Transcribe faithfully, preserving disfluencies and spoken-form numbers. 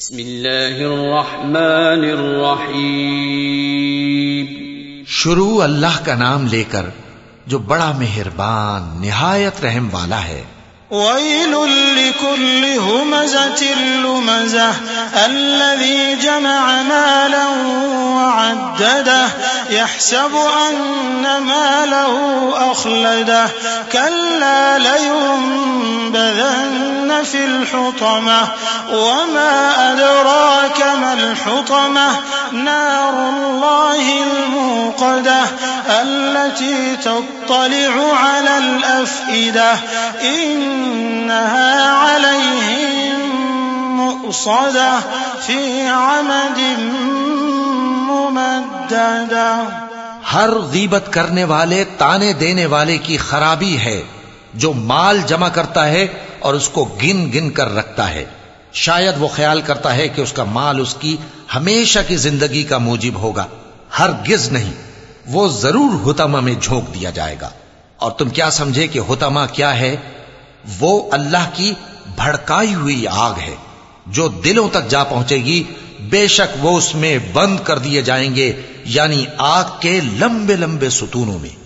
بسم اللہ الرحمن الرحیم. شروع اللہ کا نام لے کر جو بڑا مہربان نہایت رحم والا ہے. ويل لكل همزة لمزة الذي جمع مالا وعدده يحسب أن ماله أخلده كلا لينبذن في الحطمة وما أدراك ما الحطمة نار الله الموقدة التي تطلع على الأفئدة إنها عليهم مؤصدة في عمد ممددة. ہر غیبت کرنے والے تانے دینے والے کی خرابی ہے جو مال جمع کرتا ہے اور اس کو گن گن کر رکھتا ہے. شاید وہ خیال کرتا ہے کہ اس کا مال اس کی ہمیشہ کی زندگی کا موجب ہوگا. ہرگز نہیں، وہ ضرور حطمہ میں جھونک دیا جائے گا. اور تم کیا سمجھے کہ حطمہ کیا ہے؟ وہ اللہ کی بھڑکائی ہوئی آگ ہے جو دلوں تک جا پہنچے گی. بے شک وہ اس میں بند کر دیے جائیں گے، یعنی آگ کے لمبے لمبے ستونوں میں.